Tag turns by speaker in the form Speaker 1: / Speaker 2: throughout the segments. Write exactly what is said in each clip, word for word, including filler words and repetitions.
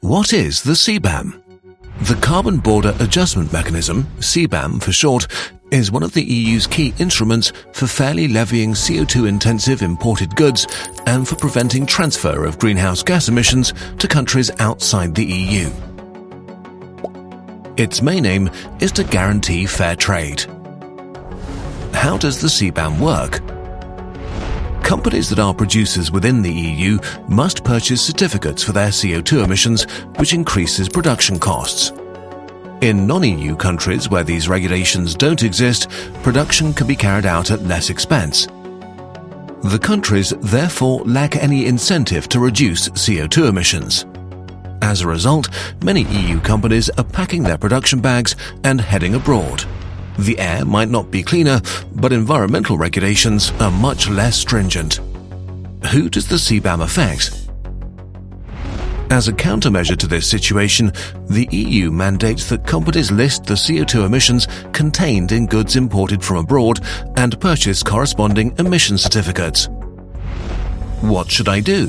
Speaker 1: What is the C BAM? The Carbon Border Adjustment Mechanism, C BAM for short, is one of the E U's key instruments for fairly levying C O two intensive imported goods and for preventing transfer of greenhouse gas emissions to countries outside the E U. Its main aim is to guarantee fair trade. How does the C BAM work? Companies that are producers within the E U must purchase certificates for their C O two emissions, which increases production costs. In non-E U countries where these regulations don't exist, production can be carried out at less expense. The countries therefore lack any incentive to reduce C O two emissions. As a result, many E U companies are packing their production bags and heading abroad. The air might not be cleaner, but environmental regulations are much less stringent. Who does the C BAM affect? As a countermeasure to this situation, the E U mandates that companies list the C O two emissions contained in goods imported from abroad and purchase corresponding emission certificates. What should I do?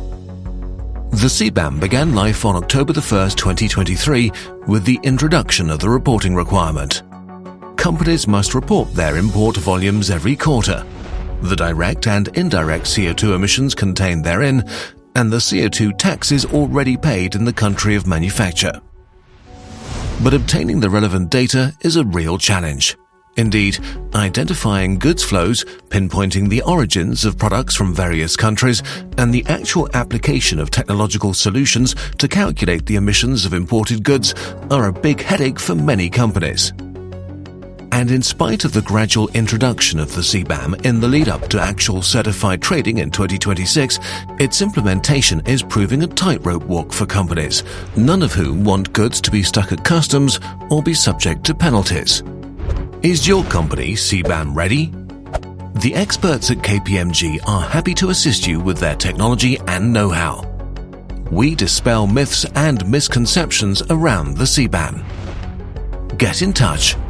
Speaker 1: The C BAM began life on October the first, twenty twenty-three, with the introduction of the reporting requirement. Companies must report their import volumes every quarter, the direct and indirect C O two emissions contained therein, and the C O two taxes already paid in the country of manufacture. But obtaining the relevant data is a real challenge. Indeed, identifying goods flows, pinpointing the origins of products from various countries, and the actual application of technological solutions to calculate the emissions of imported goods are a big headache for many companies. And in spite of the gradual introduction of the C BAM in the lead-up to actual certified trading in twenty twenty-six, its implementation is proving a tightrope walk for companies, none of whom want goods to be stuck at customs or be subject to penalties. Is your company C BAM ready? The experts at K P M G are happy to assist you with their technology and know-how. We dispel myths and misconceptions around the C BAM. Get in touch